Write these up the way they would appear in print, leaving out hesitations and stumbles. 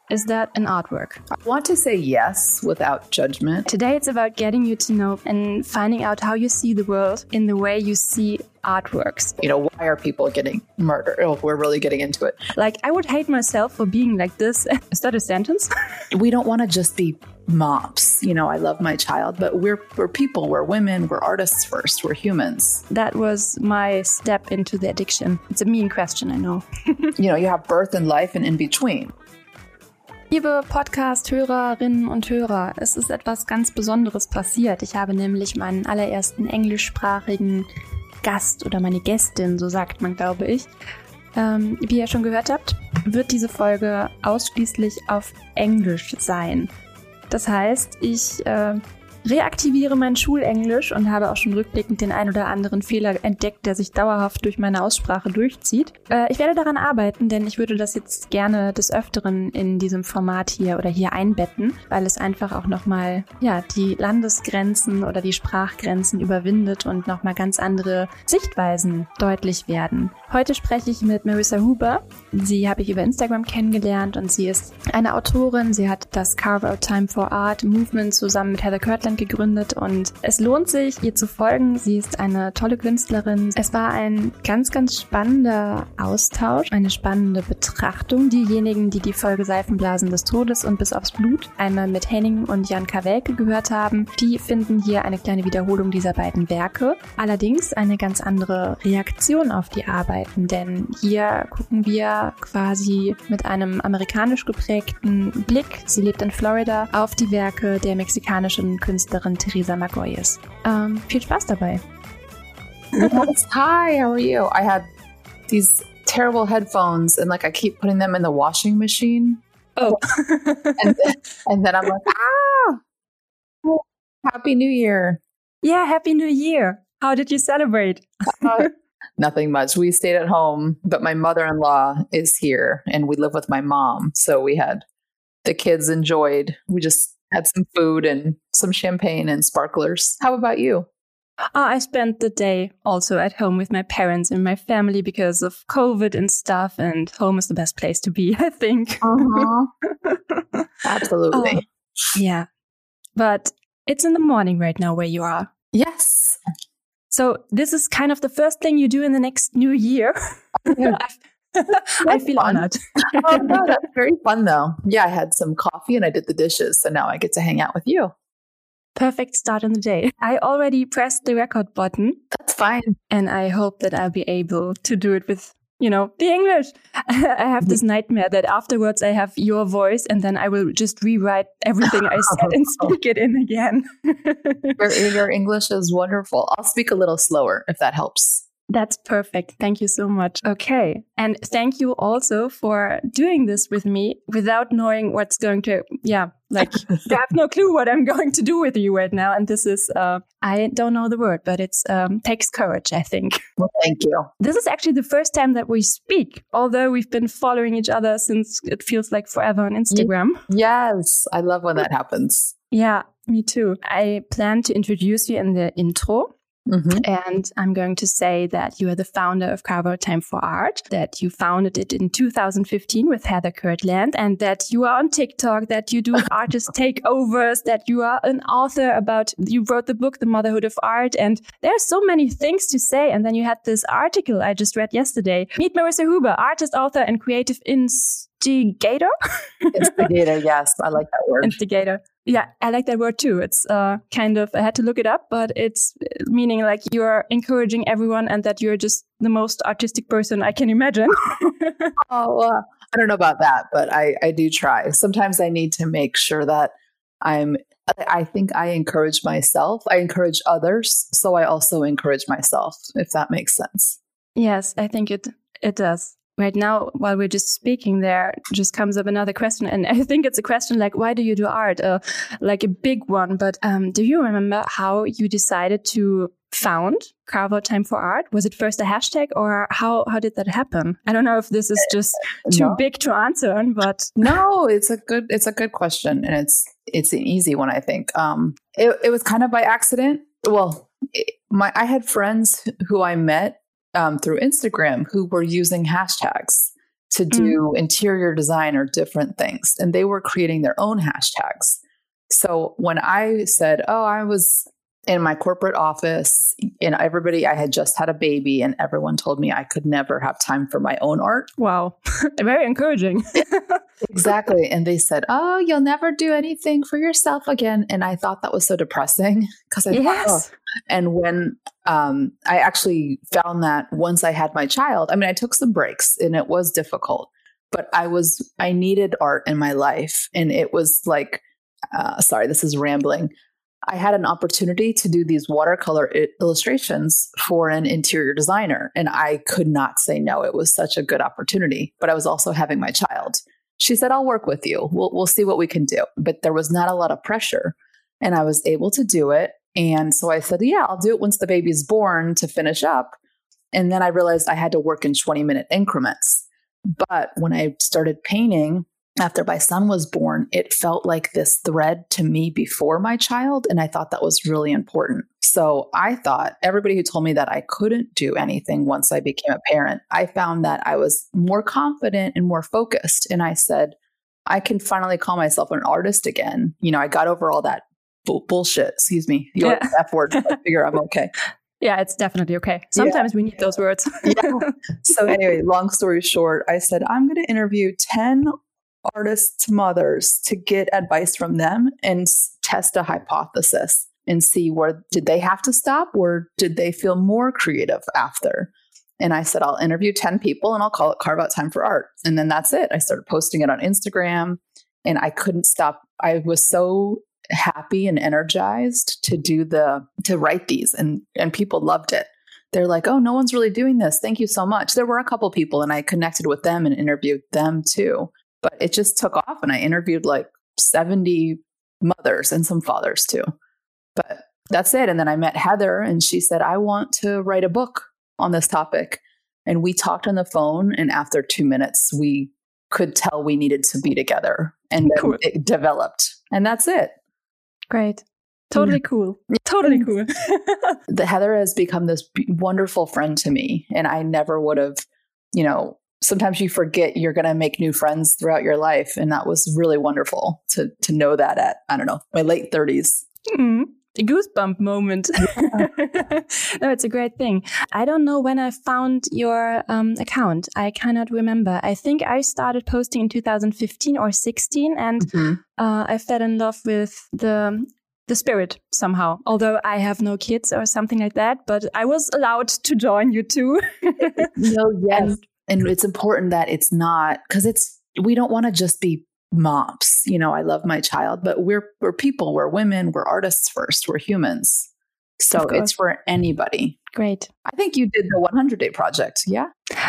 Is that an artwork? I want to say yes without judgment. Today it's about getting you to know and finding out how you see the world in the way you see artworks. Why are people getting murdered? Oh, we're really getting into it. Like, I would hate myself for being like this. Is that a sentence? We don't want to just be moms. I love my child, but we're people, we're women, we're artists first, we're humans. That was my step into the addiction. It's a mean question, I know. You have birth and life and in between. Liebe Podcast-Hörerinnen und Hörer, es ist etwas ganz Besonderes passiert. Ich habe nämlich meinen allerersten englischsprachigen Gast oder meine Gästin, so sagt man, glaube ich. Wie ihr schon gehört habt, wird diese Folge ausschließlich auf Englisch sein. Das heißt, ich reaktiviere mein Schulenglisch und habe auch schon rückblickend den ein oder anderen Fehler entdeckt, der sich dauerhaft durch meine Aussprache durchzieht. Ich werde daran arbeiten, denn ich würde das jetzt gerne des Öfteren in diesem Format hier einbetten, weil es einfach auch nochmal die Landesgrenzen oder die Sprachgrenzen überwindet und nochmal ganz andere Sichtweisen deutlich werden. Heute spreche ich mit Marissa Huber. Sie habe ich über Instagram kennengelernt und sie ist eine Autorin. Sie hat das Carve Out Time for Art Movement zusammen mit Heather Kirtland gegründet und es lohnt sich, ihr zu folgen. Sie ist eine tolle Künstlerin. Es war ein ganz, ganz spannender Austausch, eine spannende Betrachtung. Diejenigen, die die Folge Seifenblasen des Todes und Bis aufs Blut einmal mit Henning und Jan Kawelke gehört haben, die finden hier eine kleine Wiederholung dieser beiden Werke. Allerdings eine ganz andere Reaktion auf die Arbeiten, denn hier gucken wir quasi mit einem amerikanisch geprägten Blick, sie lebt in Florida, auf die Werke der mexikanischen Künstlerin Teresa Magoyes. Viel Spaß dabei. Yes. Hi, how are you? I had these terrible headphones and I keep putting them in the washing machine. Oh. and then I'm like, Happy New Year. Yeah, Happy New Year. How did you celebrate? Nothing much. We stayed at home, but my mother-in-law is here and we live with my mom. So the kids enjoyed. We just had some food and some champagne and sparklers. How about you? I spent the day also at home with my parents and my family because of COVID and stuff, and home is the best place to be, I think. Uh-huh. Absolutely. Yeah. But it's in the morning right now where you are. Yes. So this is kind of the first thing you do in the next new year. I feel honored. Oh, no, that's very fun, though. Yeah, I had some coffee and I did the dishes. So now I get to hang out with you. Perfect start in the day. I already pressed the record button. That's fine. And I hope that I'll be able to do it with, the English. I have this nightmare that afterwards I have your voice and then I will just rewrite everything I said and speak it in again. Your English is wonderful. I'll speak a little slower if that helps. That's perfect. Thank you so much. Okay. And thank you also for doing this with me without knowing what's going to, I have no clue what I'm going to do with you right now. And this is, I don't know the word, but it's takes courage, I think. Well, thank you. This is actually the first time that we speak, although we've been following each other since it feels like forever on Instagram. Yes. I love when that happens. Yeah, me too. I plan to introduce you in the intro. Mm-hmm. And I'm going to say that you are the founder of Carve Out Time for Art, that you founded it in 2015 with Heather Kirtland, and that you are on TikTok, that you do artist takeovers, that you are an author you wrote the book, The Motherhood of Art, and there are so many things to say. And then you had this article I just read yesterday. Meet Marissa Huber, artist, author, and creative instigator. Instigator, yes. I like that word. Instigator. Yeah, I like that word too. It's I had to look it up, but it's meaning like you're encouraging everyone and that you're just the most artistic person I can imagine. I don't know about that, but I do try. Sometimes I need to make sure that I think I encourage myself. I encourage others. So I also encourage myself, if that makes sense. Yes, I think it does. Right now, while we're just speaking, there just comes up another question. And I think it's a question like, why do you do art? Like a big one. But do you remember how you decided to found Carve Out Time for Art? Was it first a hashtag or how did that happen? I don't know if this is just too big to answer on, but no, it's a good question. And it's an easy one, I think. It was kind of by accident. Well, I had friends who I met through Instagram who were using hashtags. to do interior design or different things. And they were creating their own hashtags. So when I said, oh, I was in my corporate office and I had just had a baby and everyone told me I could never have time for my own art. Wow. Very encouraging. Exactly. And they said, oh, you'll never do anything for yourself again. And I thought that was so depressing because I thought, oh. And when I actually found that once I had my child, I mean, I took some breaks and it was difficult, but I needed art in my life. And it was like, sorry, this is rambling. I had an opportunity to do these watercolor illustrations for an interior designer, and I could not say no. It was such a good opportunity, but I was also having my child. She said, I'll work with you. We'll see what we can do. But there was not a lot of pressure, and I was able to do it. And so I said, yeah, I'll do it once the baby's born to finish up. And then I realized I had to work in 20-minute increments. But when I started painting, after my son was born, it felt like this thread to me before my child. And I thought that was really important. So I thought everybody who told me that I couldn't do anything once I became a parent, I found that I was more confident and more focused. And I said, I can finally call myself an artist again. You know, I got over all that bullshit. Excuse me. The F word. I figure I'm okay. Yeah, it's definitely okay. Sometimes we need those words. So anyway, long story short, I said, I'm going to interview 10 artists' mothers to get advice from them and test a hypothesis and see where did they have to stop or did they feel more creative after. And I said, I'll interview 10 people and I'll call it Carve Out Time for Art. And then that's it. I started posting it on Instagram and I couldn't stop. I was so happy and energized to write these and people loved it. They're like, oh, no one's really doing this. Thank you so much. There were a couple people and I connected with them and interviewed them too. But it just took off and I interviewed like 70 mothers and some fathers too. But that's it. And then I met Heather and she said, I want to write a book on this topic. And we talked on the phone. And after 2 minutes, we could tell we needed to be together. And then it developed. And that's it. Great. Totally cool. Totally cool. The Heather has become this wonderful friend to me. And I never would have, sometimes you forget you're going to make new friends throughout your life. And that was really wonderful to know that at, I don't know, my late 30s. A goosebump moment. No, it's a great thing. I don't know when I found your account. I cannot remember. I think I started posting in 2015 or 16 and I fell in love with the spirit somehow, although I have no kids or something like that, but I was allowed to join you too. Yes. And it's important that it's not, because we don't want to just be moms. I love my child, but we're people, we're women, we're artists first, we're humans. So it's for anybody. Great. I think you did the 100-day project. Yeah.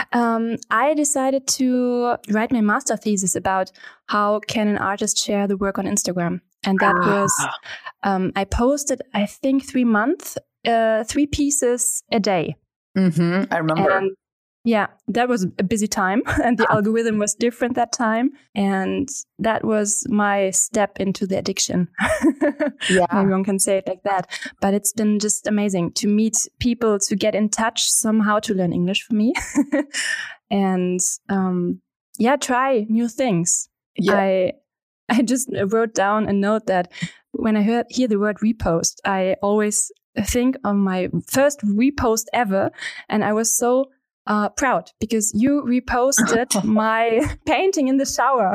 I decided to write my master thesis about how can an artist share the work on Instagram. And that was, I posted, I think 3 months, 3 pieces a day. I remember. And yeah, that was a busy time and the algorithm was different that time. And that was my step into the addiction. Maybe one can say it like that. But it's been just amazing to meet people, to get in touch somehow, to learn English for me. And try new things. Yeah. I just wrote down a note that when I hear the word repost, I always think of my first repost ever. And I was so proud because you reposted my painting in the shower.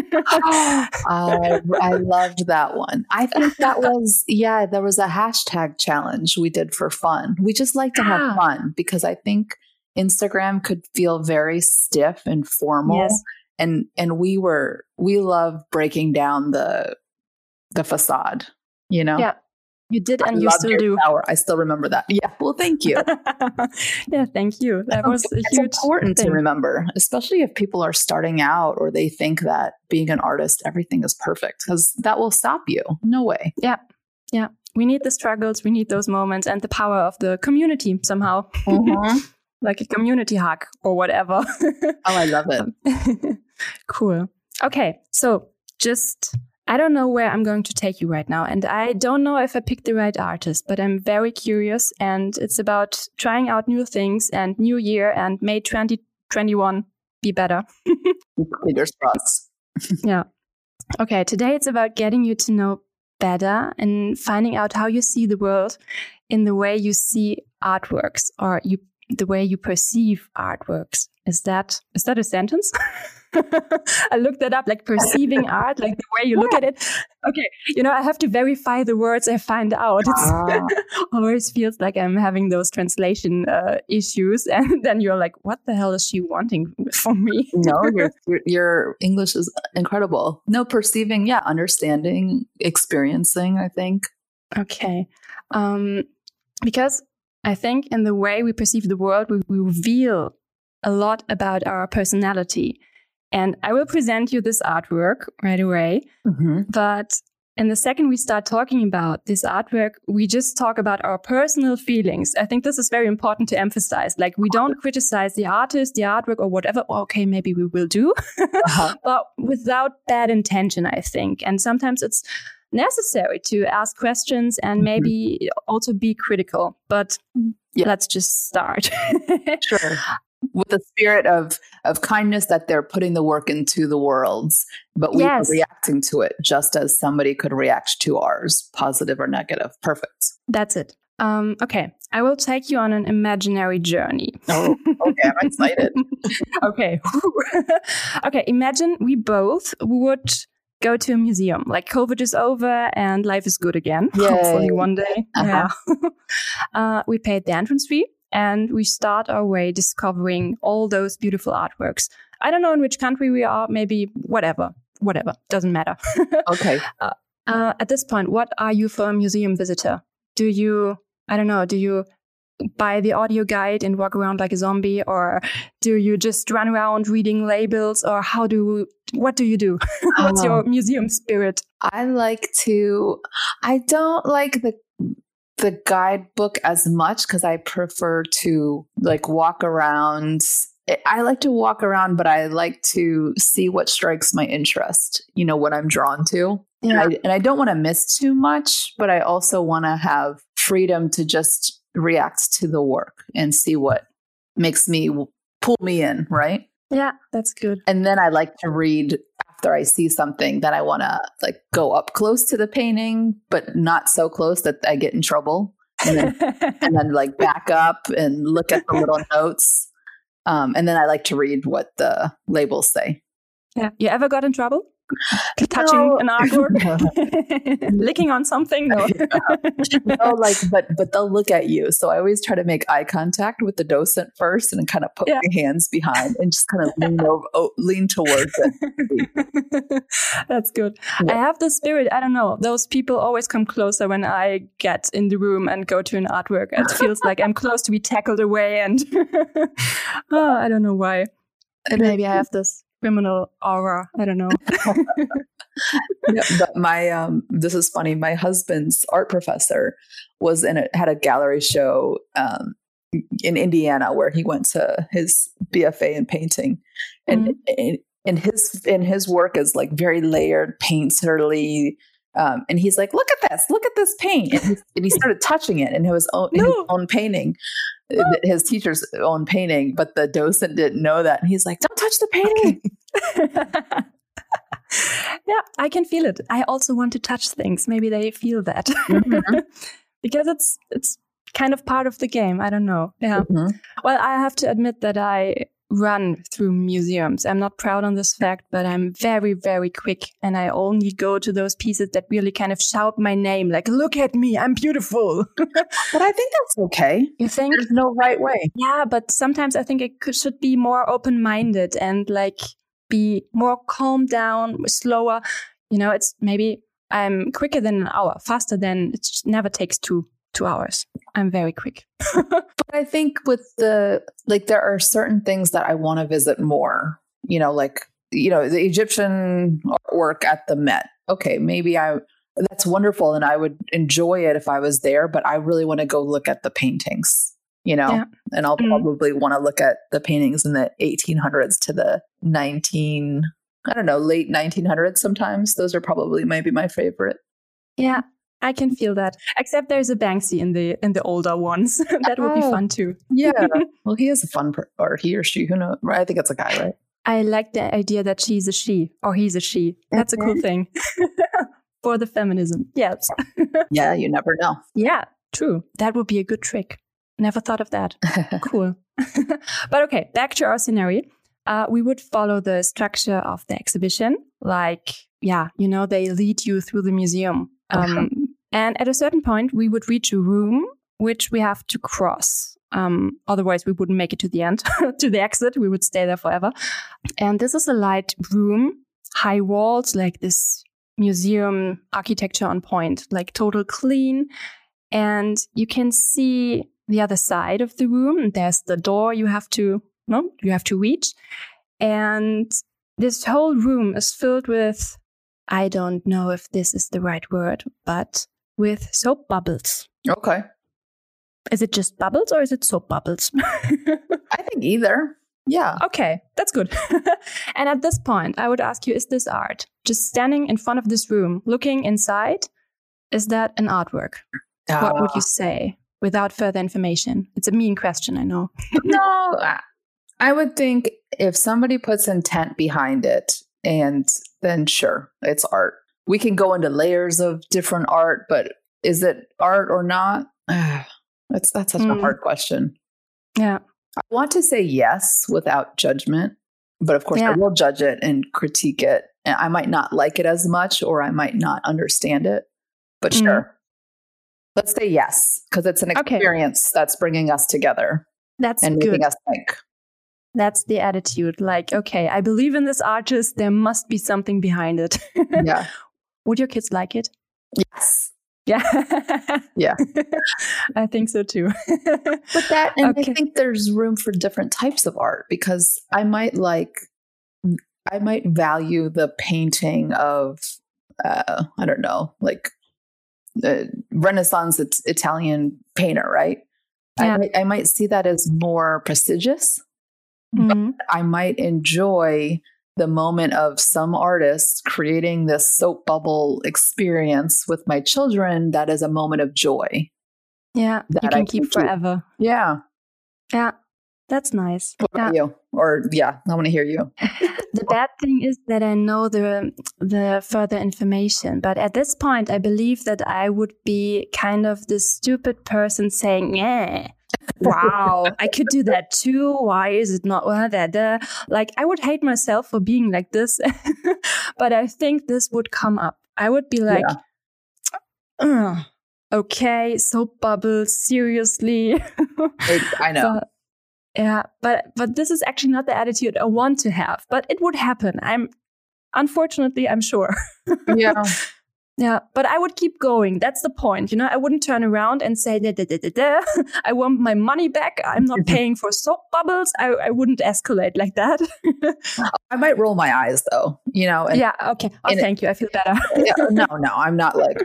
I loved that one. I think that was, there was a hashtag challenge we did for fun. We just like to have fun because I think Instagram could feel very stiff and formal. Yes. And we love breaking down the facade, Yeah. You did, and you still do. Shower. I still remember that. Yeah. Well, thank you. Thank you. That was a huge important thing to remember, especially if people are starting out or they think that being an artist, everything is perfect, because that will stop you. No way. Yeah. Yeah. We need the struggles. We need those moments and the power of the community somehow. Like a community hug or whatever. I love it. Cool. Okay. So I don't know where I'm going to take you right now. And I don't know if I picked the right artist, but I'm very curious. And it's about trying out new things and new year, and may 2021 be better. Fingers crossed. Yeah. Okay, today it's about getting you to know better and finding out how you see the world in the way you see artworks or the way you perceive artworks. Is that a sentence? I looked that up, like perceiving art, like the way you look at it. Okay, I have to verify the words I find out. It always feels like I'm having those translation issues, and then you're like, what the hell is she wanting from me? No, your English is incredible. No, perceiving, understanding, experiencing, I think. Okay. Because I think in the way we perceive the world, we reveal a lot about our personality. And I will present you this artwork right away. Mm-hmm. But in the second we start talking about this artwork, we just talk about our personal feelings. I think this is very important to emphasize. Like, we don't criticize the artist, the artwork, or whatever. Okay, maybe we will do, but without bad intention, I think. And sometimes it's necessary to ask questions and maybe also be critical. But let's just start. Sure. With the spirit of kindness that they're putting the work into the world's, but we are reacting to it just as somebody could react to ours, positive or negative. Perfect. That's it. Okay, I will take you on an imaginary journey. Oh, okay, I'm excited. Okay. Okay, imagine we both would go to a museum. Like, COVID is over and life is good again. Yay. Hopefully one day. Yeah. We paid the entrance fee. And we start our way discovering all those beautiful artworks. I don't know in which country we are, maybe whatever, doesn't matter. Okay. At this point, what are you for a museum visitor? Do you buy the audio guide and walk around like a zombie? Or do you just run around reading labels? Or what do you do? What's your museum spirit? I don't like the guidebook as much because I prefer to walk around. I like to walk around, but I like to see what strikes my interest, what I'm drawn to. Yeah. And I don't want to miss too much, but I also want to have freedom to just react to the work and see what makes me pull me in, right? Yeah, that's good. And then I like to read after I see something that I want to go up close to the painting, but not so close that I get in trouble. And then back up and look at the little notes. And then I like to read what the labels say. Yeah. You ever got in trouble? Touching an artwork? Licking on something? No. No, but they'll look at you. So I always try to make eye contact with the docent first and kind of put my hands behind and just kind of lean towards it. That's good. Yeah. I have the spirit. I don't know. Those people always come closer when I get in the room and go to an artwork. It feels like I'm close to be tackled away. And I don't know why. Maybe I have this criminal aura. I don't know. But this is funny. My husband's art professor had a gallery show in Indiana where he went to his BFA in painting, and his work is very layered, painterly. And he's like, look at this paint. And he started touching it in his own painting, his teacher's own painting. But the docent didn't know that. And he's like, don't touch the painting. Yeah, I can feel it. I also want to touch things. Maybe they feel that. Mm-hmm. Because it's kind of part of the game. I don't know. Yeah. Mm-hmm. Well, I have to admit that I run through museums. I'm not proud on this fact, but I'm very, very quick. And I only go to those pieces that really kind of shout my name, like, look at me, I'm beautiful. But I think that's okay. You think? There's no right way. Yeah, but sometimes I think it should be more open-minded and be more calmed down, slower. It's maybe I'm quicker than an hour, faster than it never takes 2 hours. I'm very quick. But I think with there are certain things that I want to visit more, the Egyptian artwork at the Met. Okay, maybe that's wonderful. And I would enjoy it if I was there, but I really want to go look at the paintings, and I'll probably want to look at the paintings in the 1800s to the late 1900s. Sometimes those are probably maybe my favorite. Yeah. I can feel that. Except there's a Banksy in the older ones. That would be fun too. Yeah. Well, he is a fun or he or she. Who knows? I think it's a guy, right? I like the idea that she's a she or he's a she. That's a cool thing for the feminism. Yes. Yeah, you never know. Yeah, true. That would be a good trick. Never thought of that. Cool. But okay, back to our scenario. We would follow the structure of the exhibition. Like, yeah, they lead you through the museum. And at a certain point, we would reach a room which we have to cross. Otherwise, we wouldn't make it to the end, to the exit. We would stay there forever. And this is a light room, high walls, like this museum architecture on point, like total clean. And you can see the other side of the room. There's the door you have to reach. And this whole room is filled with, I don't know if this is the right word, but with soap bubbles. Okay. Is it just bubbles or is it soap bubbles? I think either. Yeah. Okay, that's good. And at this point, I would ask you, is this art? Just standing in front of this room, looking inside, is that an artwork? What would you say without further information? It's a mean question, I know. No, I would think if somebody puts intent behind it, and then sure, it's art. We can go into layers of different art, but is it art or not? That's such a hard question. Yeah. I want to say yes without judgment, but of course I will judge it and critique it. And I might not like it as much, or I might not understand it, but sure. Let's say yes, because it's an experience that's bringing us together. That's and good. Making us think. That's the attitude. Like, okay, I believe in this artist. There must be something behind it. Yeah. Would your kids like it? Yes. Yeah. Yeah. I think so too. But that, and I think there's room for different types of art, because I might value the painting of, I don't know, like the Renaissance Italian painter, right? Yeah. I might see that as more prestigious. But I might enjoy the moment of some artist creating this soap bubble experience with my children. That is a moment of joy. Yeah, you can keep forever. Yeah. Yeah, that's nice. What about you? Or I want to hear you. The bad thing is that I know the further information, but at this point, I believe that I would be kind of the stupid person saying, yeah. Wow, I could do that too. Why is it not that? Like, I would hate myself for being like this, but I think this would come up. I would be like, okay, soap bubbles, seriously. I know. But this is actually not the attitude I want to have, but it would happen. I'm sure. Yeah. Yeah, but I would keep going. That's the point. I wouldn't turn around and say, I want my money back. I'm not paying for soap bubbles. I wouldn't escalate like that. I might roll my eyes though, And, yeah. Okay. Oh, thank you. I feel better. No, I'm not like,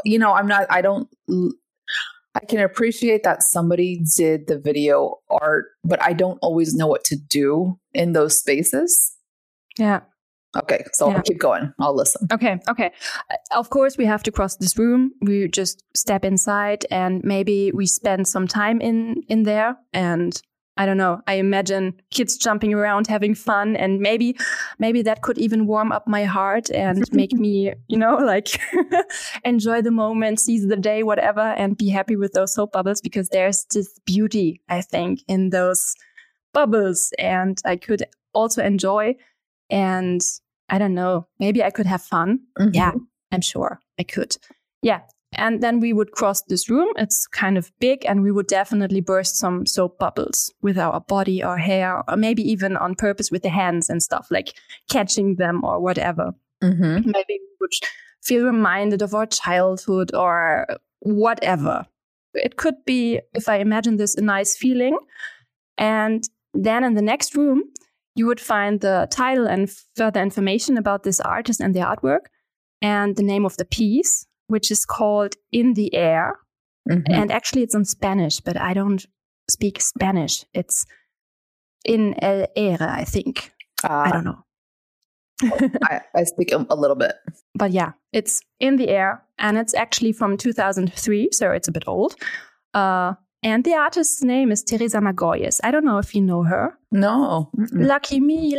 I can appreciate that somebody did the video art, but I don't always know what to do in those spaces. Yeah. Okay, so I'll keep going. I'll listen. Okay. Of course, we have to cross this room. We just step inside and maybe we spend some time in there. And I don't know, I imagine kids jumping around, having fun. And maybe that could even warm up my heart and make me, like enjoy the moment, seize the day, whatever, and be happy with those soap bubbles, because there's this beauty, I think, in those bubbles. And I could also enjoy. And I don't know, maybe I could have fun. Mm-hmm. Yeah, I'm sure I could. Yeah. And then we would cross this room. It's kind of big, and we would definitely burst some soap bubbles with our body or hair, or maybe even on purpose with the hands and stuff, like catching them or whatever. Mm-hmm. Maybe we would feel reminded of our childhood or whatever. It could be, if I imagine this, a nice feeling. And then in the next room, you would find the title and further information about this artist and their artwork, and the name of the piece, which is called In the Air. Mm-hmm. And actually it's in Spanish, but I don't speak Spanish. It's In el aire, I think. I don't know. I speak a little bit. But yeah, it's In the Air, and it's actually from 2003, so it's a bit old. And the artist's name is Teresa Magoyes. I don't know if you know her. No. Lucky me.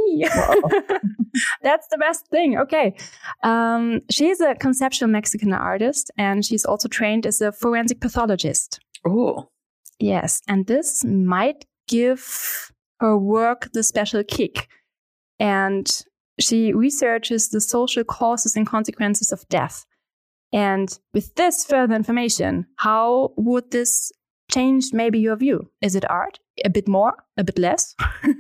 That's the best thing. Okay. She's a conceptual Mexican artist, and she's also trained as a forensic pathologist. Oh. Yes. And this might give her work the special kick. And she researches the social causes and consequences of death. And with this further information, how would this change maybe your view? Is it art? A bit more? A bit less?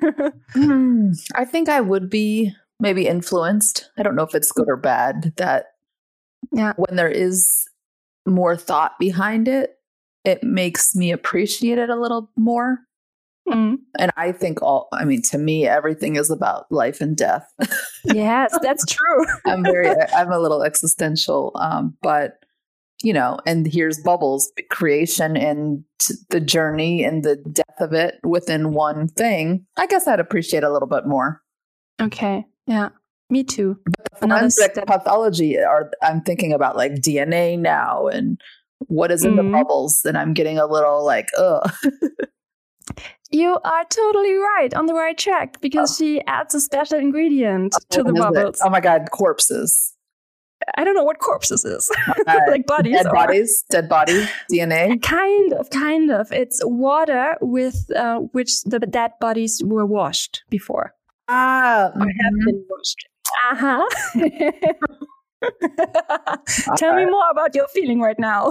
I think I would be maybe influenced. I don't know if it's good or bad that when there is more thought behind it, it makes me appreciate it a little more. And I think to me, everything is about life and death. Yes, that's true. I'm a little existential, but and here's Bubbles, creation and the journey and the death of it within one thing. I guess I'd appreciate a little bit more. Okay. Yeah, me too. But the forensic pathology, I'm thinking about like DNA now and what is in the bubbles, and I'm getting a little like, ugh. You are totally right, on the right track, because she adds a special ingredient to the bubbles. Oh my God, corpses. I don't know what corpses is. Like bodies. Dead bodies, DNA. Kind of. It's water with which the dead bodies were washed before. Or have been washed. Tell me more about your feeling right now.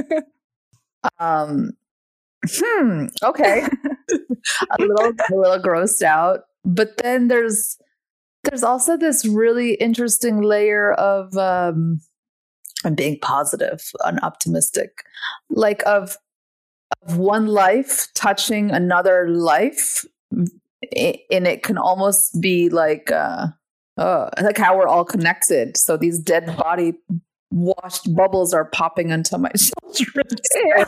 Okay. a little grossed out. But then there's also this really interesting layer of I'm being positive and optimistic, like of one life touching another life, and it can almost be like how we're all connected. So these dead body washed bubbles are popping into my children.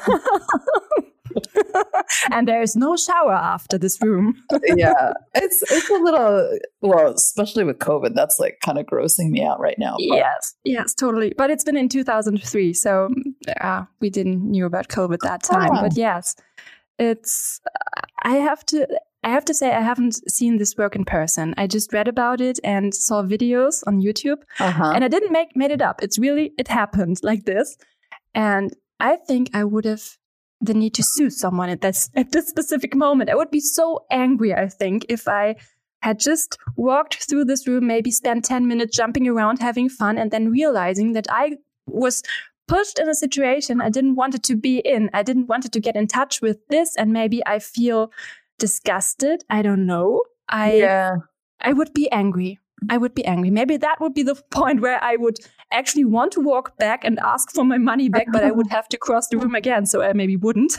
And there's no shower after this room. Yeah, it's a little, well, especially with COVID, that's like kind of grossing me out right now. But. Yes, totally. But it's been in 2003, so we didn't knew about COVID that time. But yes, it's. I have to say I haven't seen this work in person. I just read about it and saw videos on YouTube, and I didn't made it up. It happened like this, and I think I would have the need to sue someone at this specific moment. I would be so angry, I think, if I had just walked through this room, maybe spent 10 minutes jumping around, having fun, and then realizing that I was pushed in a situation I didn't want it to be in. I didn't want it to get in touch with this, and maybe I feel disgusted. I don't know. I would be angry. Maybe that would be the point where I would actually want to walk back and ask for my money back, but I would have to cross the room again, so I maybe wouldn't.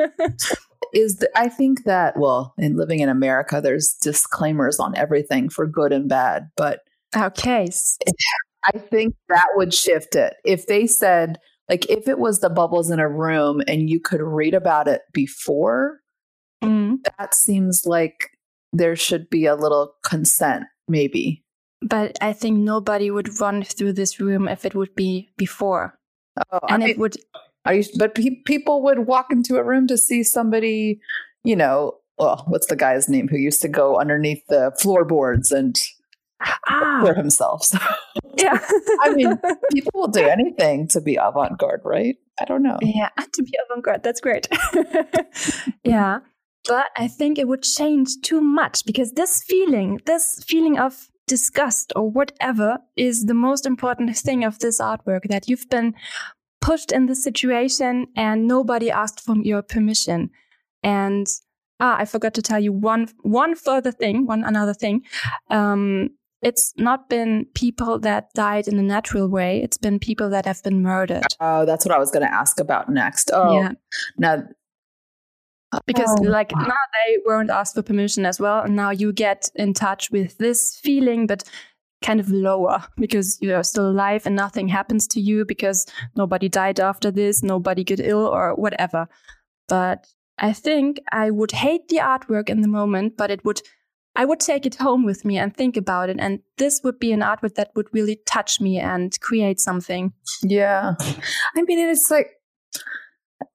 I think that, well, in living in America, there's disclaimers on everything for good and bad, but okay. I think that would shift it. If they said, like, if it was the bubbles in a room and you could read about it before, that seems like there should be a little consent, maybe. But I think nobody would run through this room if it would be before. It would. But people would walk into a room to see somebody, what's the guy's name who used to go underneath the floorboards and for himself. So, yeah. I mean, people will do anything to be avant-garde, right? I don't know. Yeah, to be avant-garde. That's great. Yeah. But I think it would change too much, because this feeling of disgust or whatever is the most important thing of this artwork, that you've been pushed in this situation and nobody asked for your permission. And I forgot to tell you one another thing. It's not been people that died in a natural way. It's been people that have been murdered. Oh, that's what I was going to ask about next. Oh, yeah. Now, because now they weren't asked for permission as well. And now you get in touch with this feeling, but kind of lower, because you're still alive and nothing happens to you because nobody died after this, nobody got ill or whatever. But I think I would hate the artwork in the moment, but I would take it home with me and think about it. And this would be an artwork that would really touch me and create something. Yeah. I mean, it's like,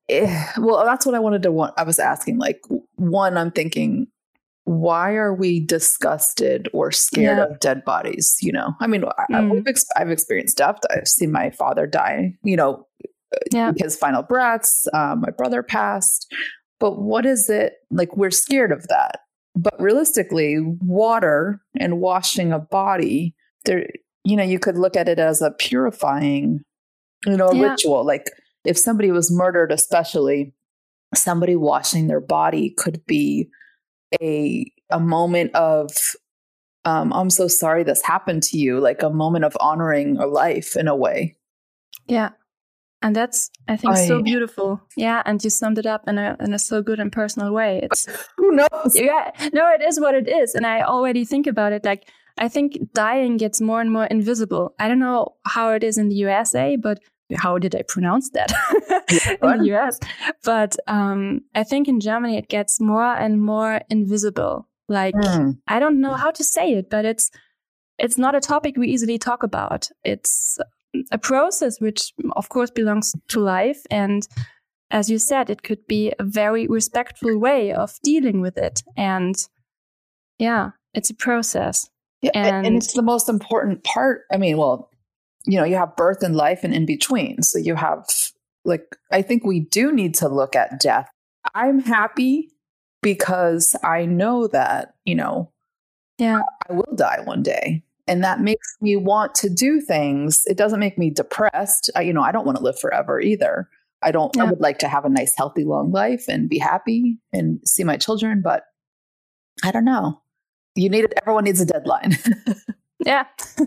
well, that's what I was asking. Like, one, I'm thinking, why are we disgusted or scared of dead bodies? You know, I mean, I've experienced death. I've seen my father die, you know, his final breaths. My brother passed. But what is it like? We're scared of that. But realistically, water and washing a body, there, you know, you could look at it as a purifying, you know, a ritual. Like if somebody was murdered, especially somebody washing their body could be a moment of I'm so sorry this happened to you, like a moment of honoring a life in a way. Yeah. And that's, I think, so beautiful. Yeah. And you summed it up in a so good and personal way. It's who knows? Yeah. No, it is what it is. And I already think about it. Like, I think dying gets more and more invisible. I don't know how it is in the USA, but how did I pronounce that in the US? But I think in Germany it gets more and more invisible. Like I don't know how to say it, but it's not a topic we easily talk about. It's a process which, of course, belongs to life, and as you said, it could be a very respectful way of dealing with it. And yeah, it's a process. Yeah, and it's the most important part. I mean, well, you know, you have birth and life and in between. So you have, like, I think we do need to look at death. I'm happy because I know that, you know, I will die one day. And that makes me want to do things. It doesn't make me depressed. You know, I don't want to live forever either. I would like to have a nice, healthy, long life and be happy and see my children. But I don't know. Everyone needs a deadline. Yeah.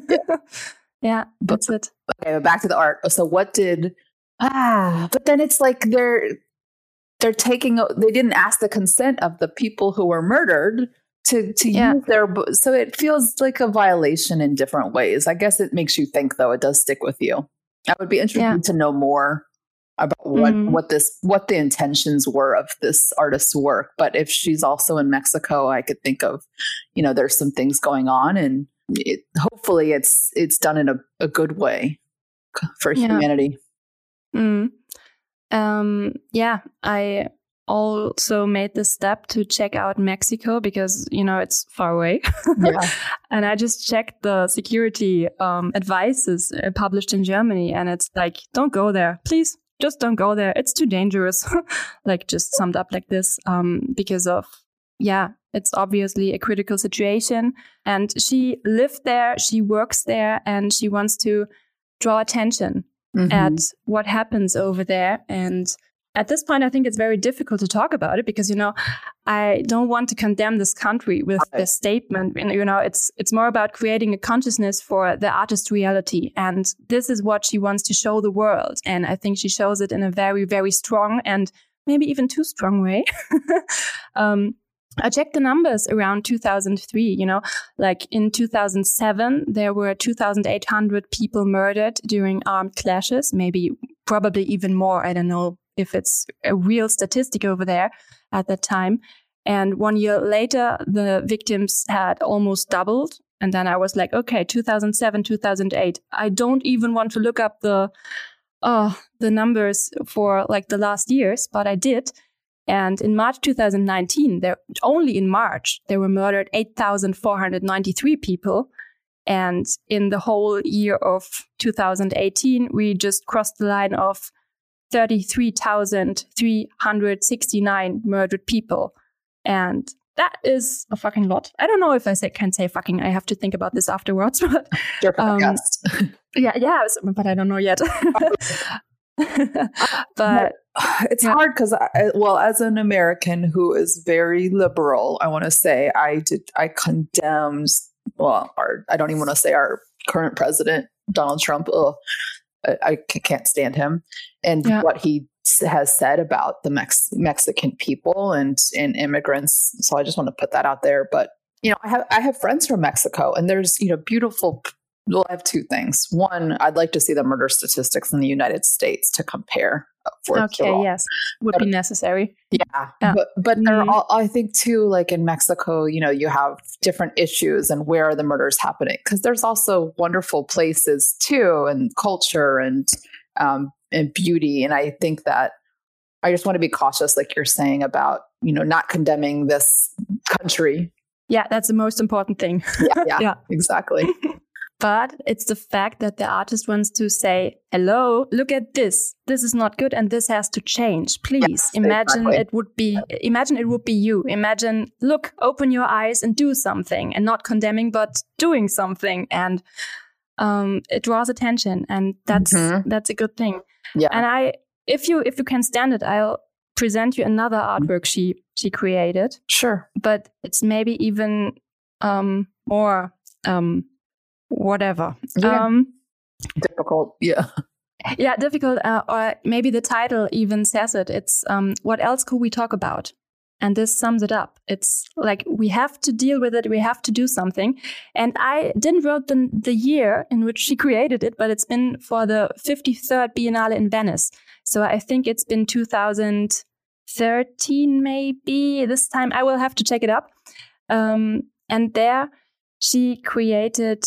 Yeah, that's it. Okay, but back to the art. So what did, but then it's like they didn't ask the consent of the people who were murdered to use so it feels like a violation in different ways. I guess it makes you think, though. It does stick with you. I would be interested to know more about what the intentions were of this artist's work. But if she's also in Mexico, I could think of, you know, there's some things going on, and hopefully it's done in a good way for humanity. I also made the step to check out Mexico because, you know, it's far away. And I just checked the security advices published in Germany, and it's like, don't go there. Please, just don't go there. It's too dangerous. Like, just summed up like this, because of, it's obviously a critical situation. And she lived there, she works there, and she wants to draw attention at what happens over there. And at this point, I think it's very difficult to talk about it because, you know, I don't want to condemn this country with this statement. You know, it's more about creating a consciousness for the artist reality. And this is what she wants to show the world. And I think she shows it in a very, very strong and maybe even too strong way. I checked the numbers around 2003, you know, like in 2007, there were 2,800 people murdered during armed clashes, probably even more. I don't know if it's a real statistic over there at that time. And 1 year later, the victims had almost doubled. And then I was like, okay, 2007, 2008. I don't even want to look up the numbers for like the last years, but I did. And in March 2019, only in March, there were murdered 8,493 people. And in the whole year of 2018, we just crossed the line of 33,369 murdered people. And that is a fucking lot. I don't know if can say fucking. I have to think about this afterwards. But, your podcast. But I don't know yet. But it's hard because, as an American who is very liberal, I want to say I condemned. I don't even want to say our current president, Donald Trump. I can't stand him and what he has said about the Mexican people and immigrants. So I just want to put that out there. But, you know, I have friends from Mexico, and there's, you know, beautiful. Well, I have two things. One, I'd like to see the murder statistics in the United States to compare. Yes, would be necessary. Yeah. But they're all, I think too, like in Mexico, you know, you have different issues and where are the murders happening? Because there's also wonderful places too, and culture and beauty. And I think that I just want to be cautious, like you're saying, about, not condemning this country. Yeah, that's the most important thing. Yeah, exactly. But it's the fact that the artist wants to say, hello, look at this. This is not good and this has to change. Please imagine it would be you. Imagine, look, open your eyes and do something, and not condemning, but doing something. And it draws attention, and that's a good thing. Yeah. And if you can stand it, I'll present you another artwork she created. Sure. But it's maybe even more whatever. Yeah. Difficult. Yeah. Yeah, difficult. Or maybe the title even says it. It's what else could we talk about? And this sums it up. It's like, we have to deal with it. We have to do something. And I didn't write the year in which she created it, but it's been for the 53rd Biennale in Venice. So I think it's been 2013, maybe. This time I will have to check it up. And there she created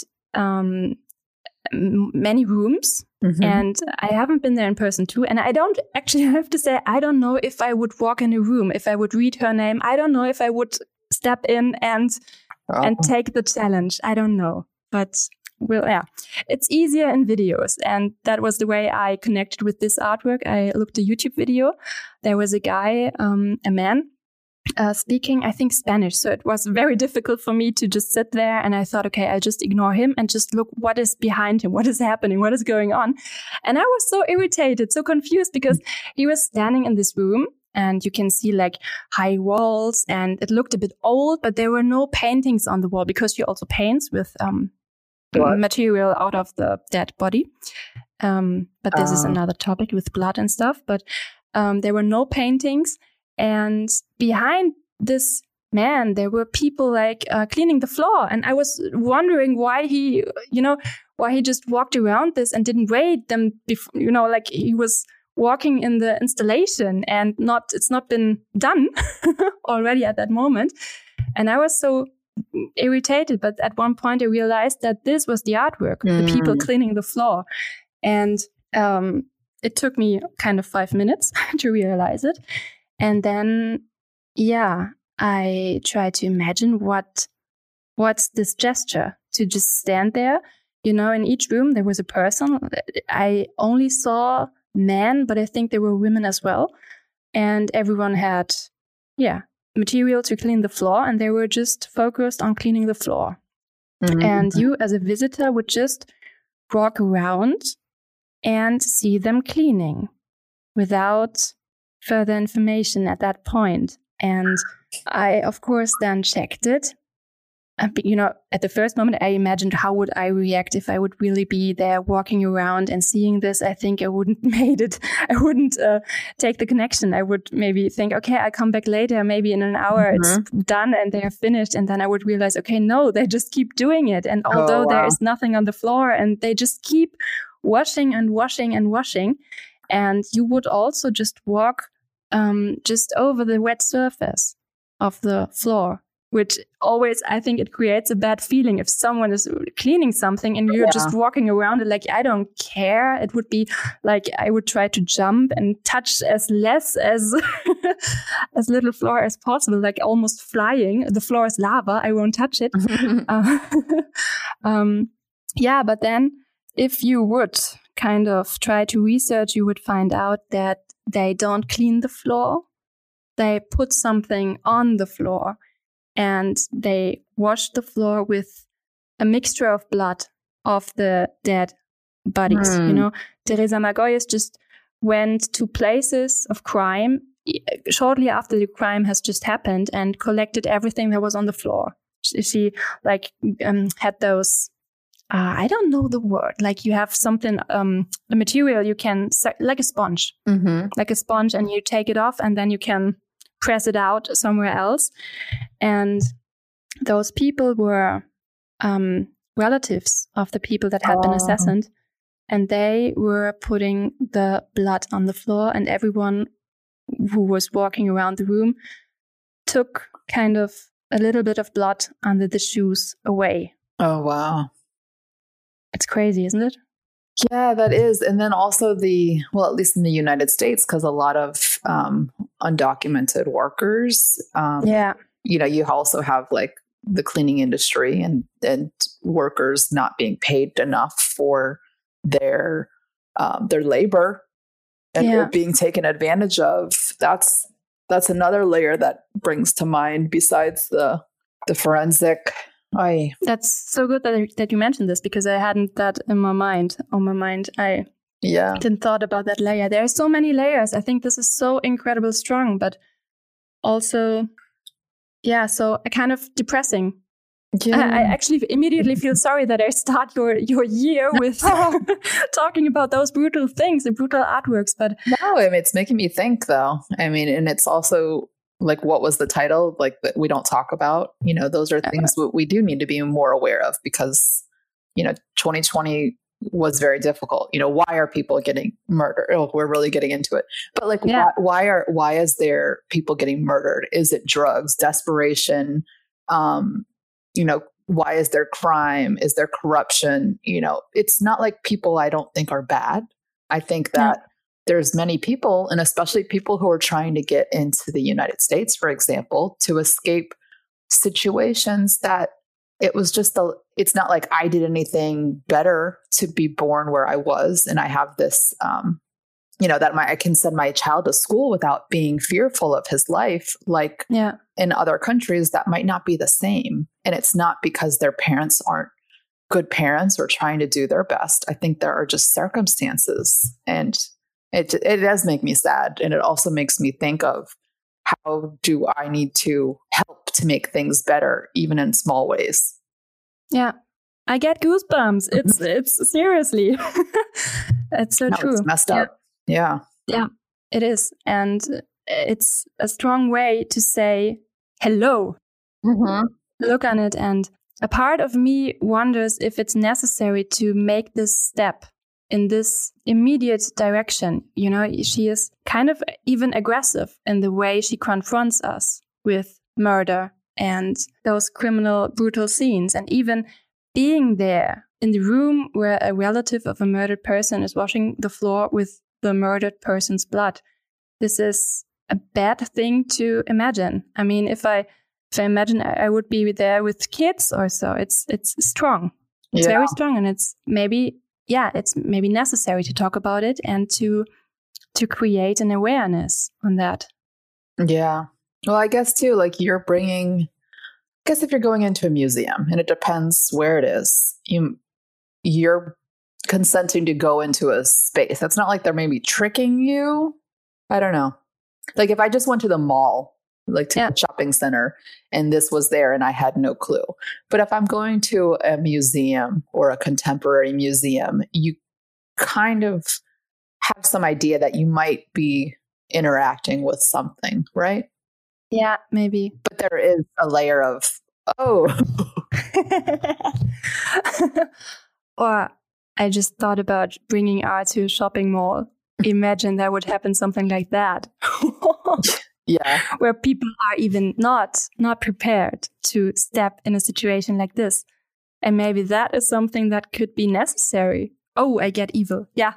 many rooms, and I haven't been there in person too. And I don't actually have to say, I don't know if I would walk in a room, if I would read her name. I don't know if I would step in and take the challenge. I don't know, but it's easier in videos. And that was the way I connected with this artwork. I looked at a YouTube video. There was a guy, a man, speaking, I think, Spanish. So it was very difficult for me to just sit there, and I thought, okay, I'll just ignore him and just look what is behind him, what is happening, what is going on. And I was so irritated, so confused, because he was standing in this room, and you can see like high walls, and it looked a bit old, but there were no paintings on the wall, because she also paints with material out of the dead body. But this is another topic with blood and stuff. But there were no paintings. And behind this man, there were people like cleaning the floor. And I was wondering why he just walked around this and didn't wait them before, like he was walking in the installation and it's not been done already at that moment. And I was so irritated. But at one point I realized that this was the artwork, the people cleaning the floor. And it took me kind of 5 minutes to realize it. And then, I tried to imagine what's this gesture, to just stand there. In each room there was a person. I only saw men, but I think there were women as well. And everyone had, material to clean the floor, and they were just focused on cleaning the floor. And you as a visitor would just walk around and see them cleaning without further information at that point. And I, of course, then checked it. At the first moment, I imagined how would I react if I would really be there walking around and seeing this. I think I wouldn't made it. I wouldn't take the connection. I would maybe think, okay, I'll come back later. Maybe in an hour it's done and they're finished. And then I would realize, okay, no, they just keep doing it. And although there is nothing on the floor, and they just keep washing and washing and washing. And you would also just walk just over the wet surface of the floor, which always, I think it creates a bad feeling if someone is cleaning something and you're just walking around it like, I don't care. It would be like I would try to jump and touch as less as as little floor as possible, like almost flying. The floor is lava. I won't touch it. But then if you would kind of try to research, you would find out that they don't clean the floor. They put something on the floor and they wash the floor with a mixture of blood of the dead bodies. Teresa Margolles just went to places of crime shortly after the crime has just happened and collected everything that was on the floor. She had those, I don't know the word, like you have something, a material you can, like a sponge, and you take it off and then you can press it out somewhere else. And those people were relatives of the people that had been assassinated. And they were putting the blood on the floor, and everyone who was walking around the room took kind of a little bit of blood under the shoes away. Oh, wow. It's crazy, isn't it? Yeah, that is. And then also at least in the United States, because a lot of undocumented workers, you also have like the cleaning industry and workers not being paid enough for their labor and being taken advantage of. That's another layer that brings to mind besides the forensic. That's so good that you mentioned this, because I hadn't that on my mind. I didn't thought about that layer. There are so many layers. I think this is so incredibly strong, but also, so kind of depressing. Yeah. I actually immediately feel sorry that I start your year with talking about those brutal things, the brutal artworks. But no, I mean, it's making me think, though. I mean, and it's also like, what was the title? Like, that we don't talk about. Those are things that we do need to be more aware of, because 2020 was very difficult. Why are people getting murdered? Oh, we're really getting into it. But like, why is there people getting murdered? Is it drugs, desperation? Why is there crime? Is there corruption? It's not like people I don't think are bad. I think that there's many people, and especially people who are trying to get into the United States, for example, to escape situations that it's not like I did anything better to be born where I was. And I have this, that I can send my child to school without being fearful of his life. Like in other countries, that might not be the same. And it's not because their parents aren't good parents or trying to do their best. I think there are just circumstances, and it does make me sad. And it also makes me think of, how do I need to help to make things better, even in small ways? Yeah, I get goosebumps. It's seriously, it's so true. It's messed up. Yeah, it is, and it's a strong way to say hello. Mm-hmm. Look on it, and a part of me wonders if it's necessary to make this step in this immediate direction. She is kind of even aggressive in the way she confronts us with murder and those criminal, brutal scenes. And even being there in the room where a relative of a murdered person is washing the floor with the murdered person's blood. This is a bad thing to imagine. I mean, if I imagine I would be there with kids or so, it's strong. It's very strong, and it's maybe necessary to talk about it and to create an awareness on that. Yeah. Well, I guess too, like if you're going into a museum, and it depends where it is, you're consenting to go into a space. That's not like they're maybe tricking you. I don't know. Like if I just went to the mall, like to the shopping center, and this was there and I had no clue. But if I'm going to a museum or a contemporary museum, you kind of have some idea that you might be interacting with something, right? Yeah, maybe. But there is a layer of, Or I just thought about bringing art to a shopping mall. Imagine that would happen, something like that. Yeah. Where people are even not prepared to step in a situation like this. And maybe that is something that could be necessary. Oh, I get evil. Yeah.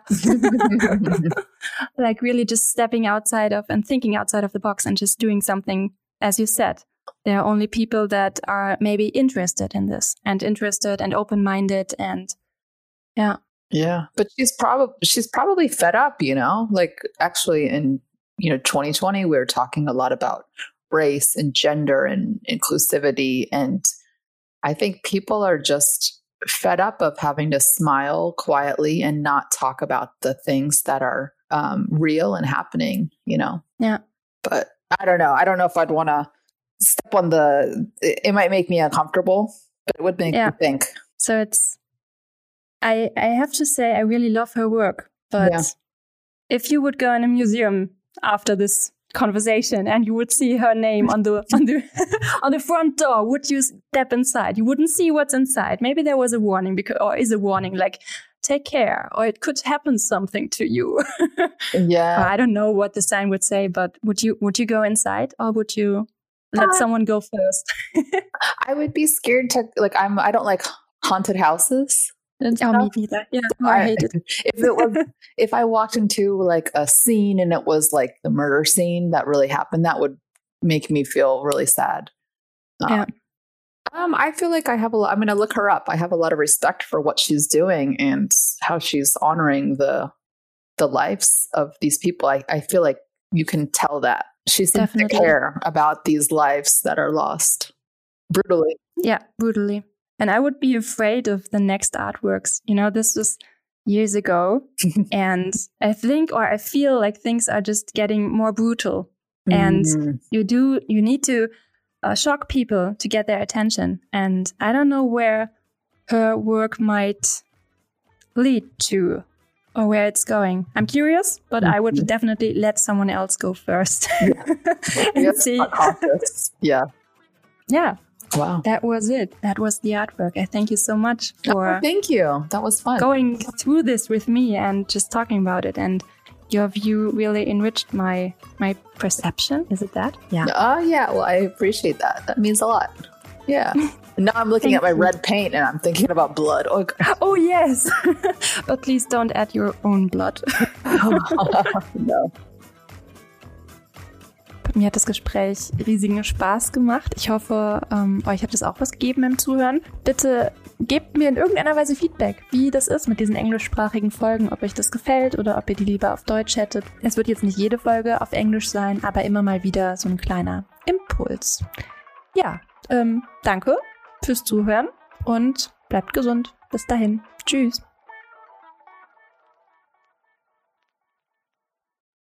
Like really just stepping outside of and thinking outside of the box and just doing something, as you said. There are only people that are maybe interested in this and open-minded and yeah. Yeah. But she's probably fed up, like actually in 2020, we were talking a lot about race and gender and inclusivity. And I think people are just fed up of having to smile quietly and not talk about the things that are real and happening, Yeah. But I don't know. I don't know if I'd want to step on it might make me uncomfortable, but it would make me think. So I have to say, I really love her work, but if you would go in a museum after this conversation and you would see her name on the on the front door, would you step inside? You wouldn't see what's inside. Maybe there was a warning, or is a warning like, take care, or it could happen something to you. Yeah. I don't know what the sign would say, but would you go inside, or would you let someone go first? I would be scared to I don't like haunted houses. and Yeah, me neither. Yeah, I hate it. If I walked into like a scene and it was like the murder scene that really happened, that would make me feel really sad. Yeah. I feel like I have a lot. I'm going to look her up. I have a lot of respect for what she's doing and how she's honoring the lives of these people. I feel like you can tell that she seems to care about these lives that are lost brutally. Yeah, brutally. And I would be afraid of the next artworks. You know, this was years ago, and I feel like things are just getting more brutal. And you need to shock people to get their attention. And I don't know where her work might lead to or where it's going. I'm curious, but I would definitely let someone else go first. And see. Yeah. Yeah. Wow. That was it. That was the artwork. I thank you so much for thank you. That was fun. Going through this with me and just talking about it. And your view really enriched my perception. Is it that? Yeah. Oh, yeah. Well, I appreciate that. That means a lot. Yeah. Now I'm looking at my red paint and I'm thinking about blood. Oh yes. But please don't add your own blood. No. Mir hat das Gespräch riesigen Spaß gemacht. Ich hoffe, euch hat es auch was gegeben im Zuhören. Bitte gebt mir in irgendeiner Weise Feedback, wie das ist mit diesen englischsprachigen Folgen, ob euch das gefällt oder ob ihr die lieber auf Deutsch hättet. Es wird jetzt nicht jede Folge auf Englisch sein, aber immer mal wieder so ein kleiner Impuls. Ja, danke fürs Zuhören und bleibt gesund. Bis dahin. Tschüss.